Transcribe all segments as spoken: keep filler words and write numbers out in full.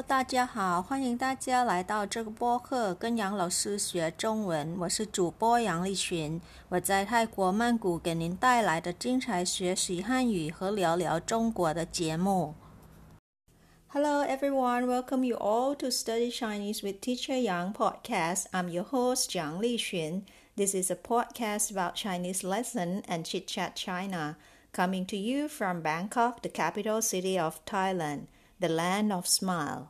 大家好，欢迎大家来到这个播客，跟杨老师学中文。我是主播杨丽群，我在泰国曼谷给您带来的精彩学习汉语和聊聊中国的节目。Hello everyone, welcome you all to Study Chinese with Teacher Yang podcast. I'm your host, Yang Lixun. This is a podcast about Chinese lesson and Chit Chat China, coming to you from Bangkok, the capital city of Thailand, the land of smile.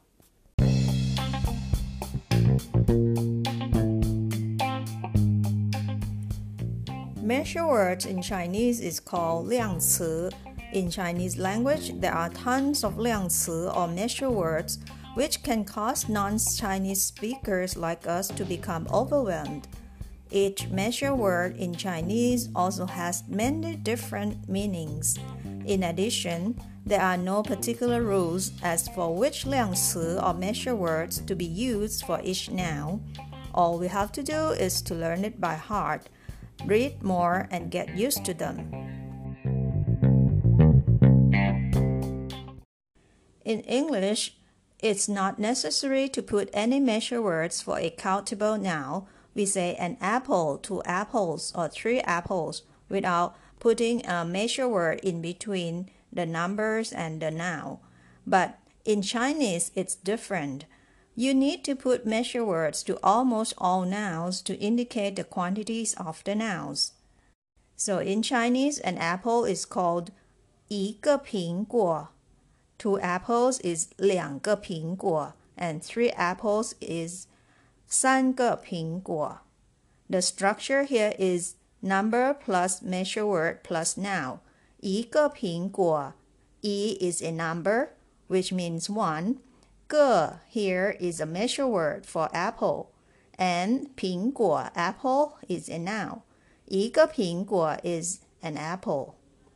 Measure words in Chinese is called 量词. In Chinese language, there are tons of 量词 or measure words, which can cause non-Chinese speakers like us to become overwhelmed. Each measure word in Chinese also has many different meanings. In addition, there are no particular rules as for which 量词 or measure words to be used for each noun. All we have to do is to learn it by heart, read more, and get used to them. In English, it's not necessary to put any measure words for a countable noun. We say an apple, two apples, or three apples without putting a measure word in between the numbers and the noun. But in Chinese, it's different. You need to put measure words to almost all nouns to indicate the quantities of the nouns. So in Chinese, an apple is called 一个苹果. Two apples is 两个苹果, and three apples is 三个苹果. The structure here is number plus measure word plus noun. 一个苹果, 一 is a number, which means one. 个 here is a measure word for apple, and 苹果 apple is a noun. 一个苹果 is an apple.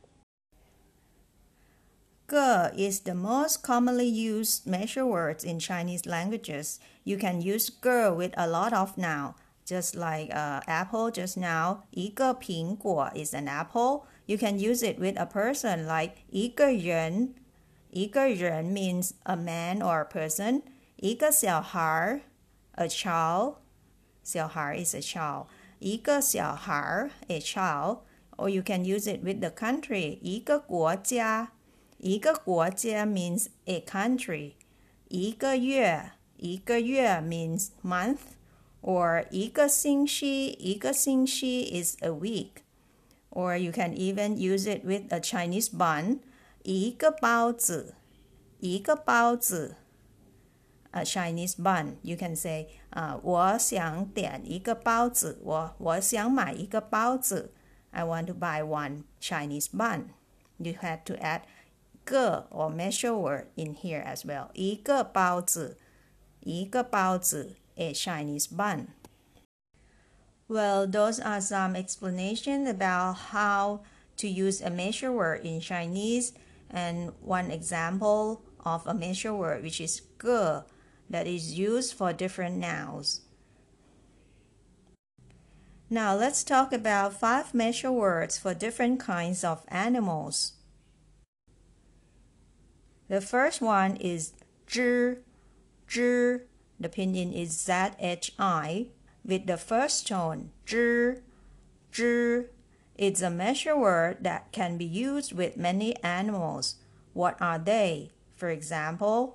个 is the most commonly used measure words in Chinese languages. You can use 个 with a lot of noun, just like uh, apple just now. 一个苹果 is an apple. You can use it with a person like 一个人. 一个人 means a man or a person. 一个小孩 a child. 小孩 is a child. 一个小孩 a child. Or you can use it with the country. 一个国家一个国家 means a country. 一个月一个月 means month. Or 一个星期一个星期 is a week. Or you can even use it with a Chinese bun. 一个包子一个包子 a Chinese bun. You can say, uh, 我想点一个包子我我想买一个包子 I want to buy one Chinese bun. You had to add 个 or measure word in here as well. 一个包子一个包子 a Chinese bun. Well, those are some explanation about how to use a measure word in Chinese, and one example of a measure word, which is 个, that is used for different nouns. Now let's talk about five measure words for different kinds of animals. The first one is 只 只. The pinyin is Z H I with the first tone 只 只. It's a measure word that can be used with many animals. What are they? For example,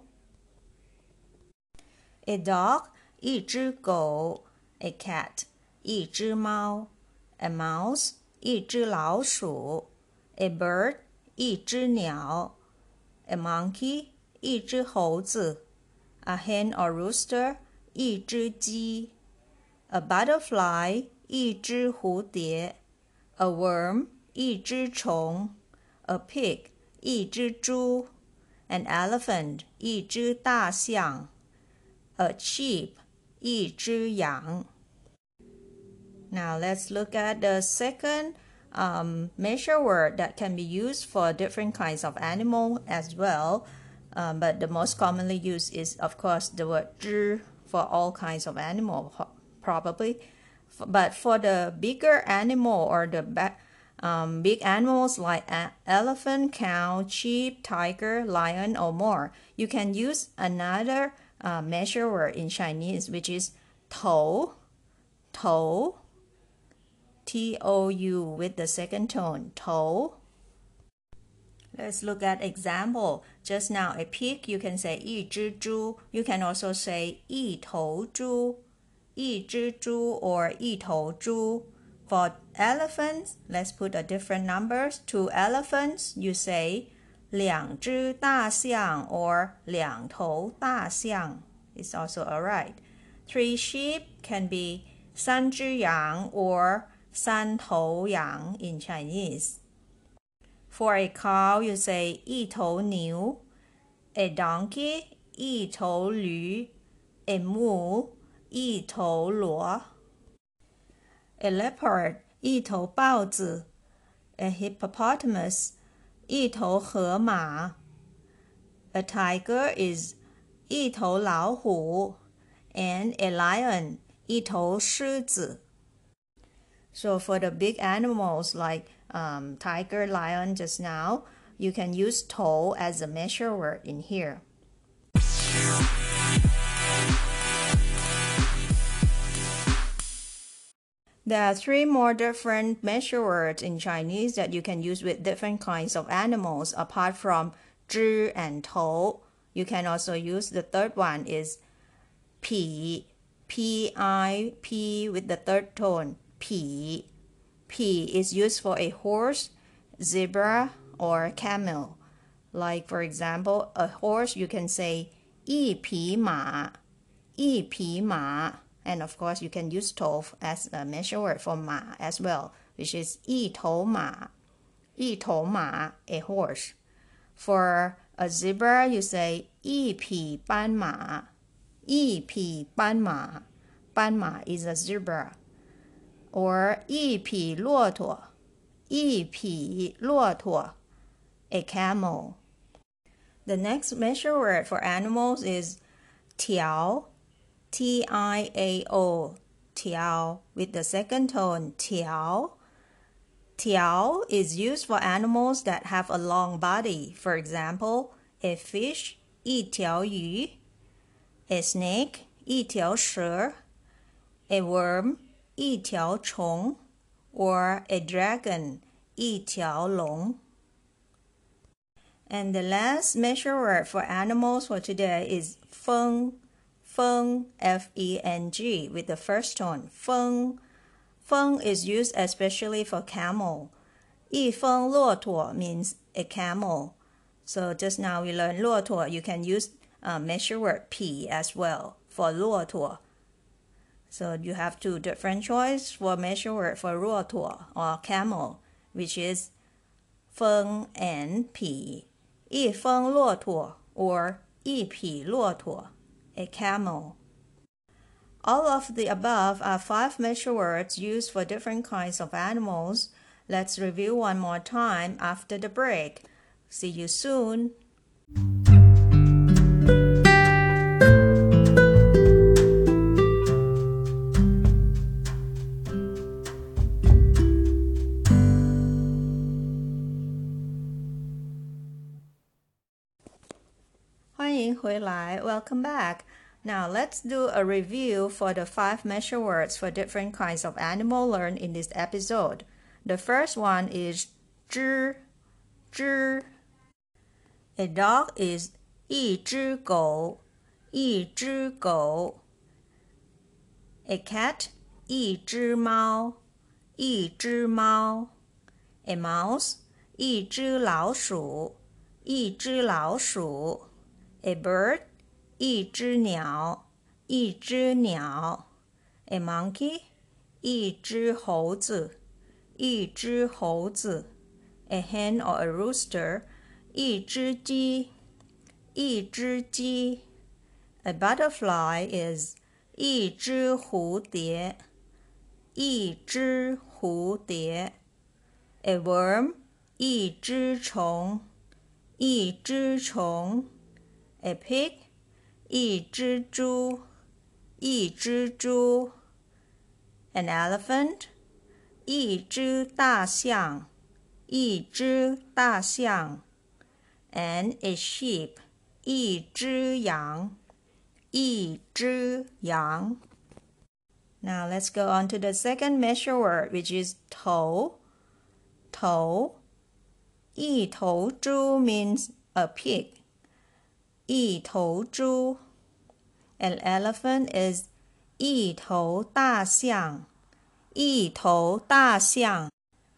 a dog 一只狗 a cat 一只猫 a mouse 一只老鼠 a bird 一只鸟 a monkey 一只猴子 a hen or rooster 一只鸡 a butterfly 一只蝴蝶 a worm 一只虫 a pig 一只猪 an elephant 一只大象 a sheep 一只羊 Now let's look at the second um, measure word that can be used for different kinds of animal as well. Um, but the most commonly used is, of course, the word 只 for all kinds of animal, probably. But for the bigger animal or the um, big animals like a- elephant, cow, sheep, tiger, lion, or more. You can use another uh, measure word in Chinese, which is 头, 头, T O U with the second tone, 头. Let's look at example. Just now, a pig, you can say 一只猪. You can also say 一头猪, 一只猪 or 一头猪. For elephants, let's put a different numbers. Two elephants, you say 两只大象 or 两头大象. It's also alright. Three sheep can be 三只羊 or 三头羊 in Chinese. For a cow, you say 一头牛. A donkey, 一头驴. A mule, 一头骡. A leopard, 一头豹子. A hippopotamus, 一头河马. A tiger is 一头老虎. And a lion, 一头狮子. So for the big animals like um, tiger, lion just now, you can use 头 as a measure word in here. There are three more different measure words in Chinese that you can use with different kinds of animals apart from 知 and 头. You can also use the third one is 匹, P I P with the third tone, 匹. P is used for a horse, zebra, or camel. Like for example, a horse you can say 一匹马, 一匹马. And of course, you can use 头 as a measure word for 马 as well, which is 一头马, 一头马, a horse. For a zebra, you say 一匹斑马, 一匹斑马, 斑马 is a zebra. Or 一匹骆驼, 一匹骆驼, a camel. The next measure word for animals is 条, T I A O, 条 with the second tone, 条. 条 is used for animals that have a long body. For example, a fish, 一条鱼, a snake, 一条蛇, a worm, 一条虫, or a dragon, 一条龙. And the last measure word for animals for today is 风, 风, F E N G, with the first tone, 风. Feng is used especially for camel. 一风骆驼 means a camel. So just now we learned 骆驼. You can use uh, measure word 匹 as well for 骆驼. So you have two different choices for measure word for 骆驼 or camel, which is 风 and 匹. 一风骆驼 or 一匹骆驼, a camel. All of the above are five measure words used for different kinds of animals. Let's review one more time after the break. See you soon. Welcome back. Now let's do a review for the five measure words for different kinds of animal learned in this episode. The first one is 只, 只. A dog is 一只狗, 一只狗. A cat, 一只猫, 一只猫. A mouse, 一只老鼠, 一只老鼠. A bird, 一只鸟，一只鸟。A monkey, 一只猴子，一只猴子。A hen or a rooster, 一只鸡，一只鸡。A butterfly is 一只蝴蝶，一只蝴蝶。A worm, 一只虫，一只虫。A pig, 一只猪，一只猪。An elephant, 一只大象， 一只大象 and a sheep 一只羊一只羊 Now let's go on to the second measure word, which is 头头一头猪 means a pig 一头猪 An elephant is 一头大象一头大象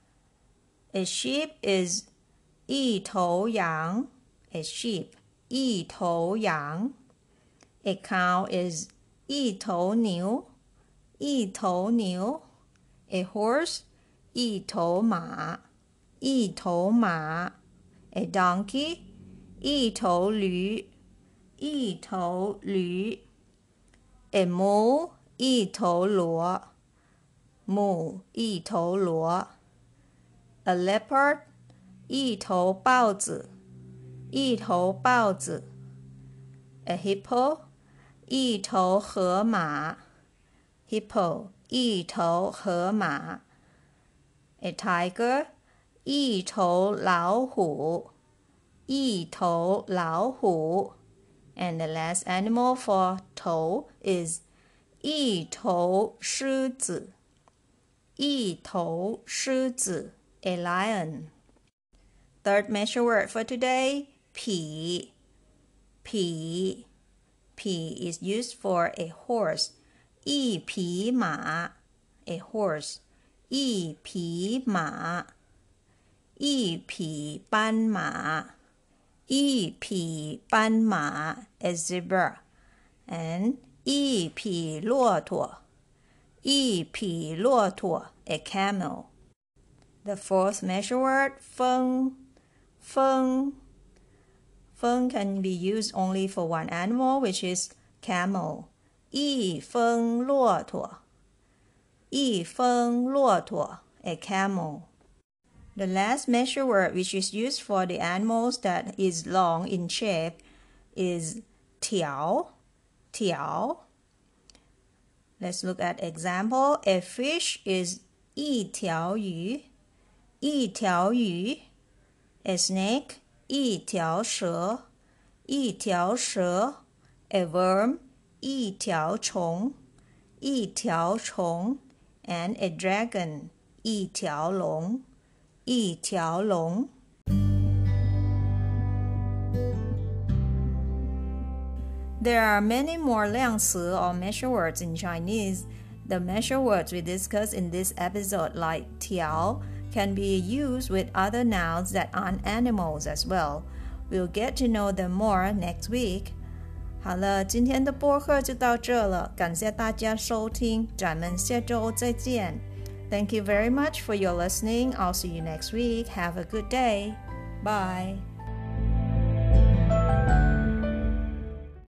A sheep is 一头羊 A sheep 一头羊 A cow is 一头牛一头牛 A horse 一头马一头马 A donkey 一头驴一头驴 A mule 一头骡 mule 一头骡 A leopard 一头豹子一头豹子 A hippo 一头河马 hippo 一头河马 A tiger 一头老虎一头老虎 And the last animal for 头 is 一头狮子一头狮子 A lion. Third measure word for today, 匹匹匹 is used for a horse 一匹马 A horse 一匹马一匹斑马一匹斑马 A zebra and 一匹骆驼一匹骆驼 A camel. The fourth measure word, 风风风 can be used only for one animal, which is camel. 一风骆驼一风骆驼 A camel. The last measure word, which is used for the animals that is long in shape, is 条条 Let's look at example. A fish is 一条鱼一条鱼 A snake 一条蛇一条蛇 A worm 一条虫一条虫 And a dragon 一条龙一条龙 There are many more 量词 or measure words in Chinese. The measure words we discussed in this episode, like 条, can be used with other nouns that aren't animals as well. We'll get to know them more next week. 好了，今天的播客就到这了，感谢大家收听，咱们下周再见。Thank you very much for your listening. I'll see you next week. Have a good day. Bye.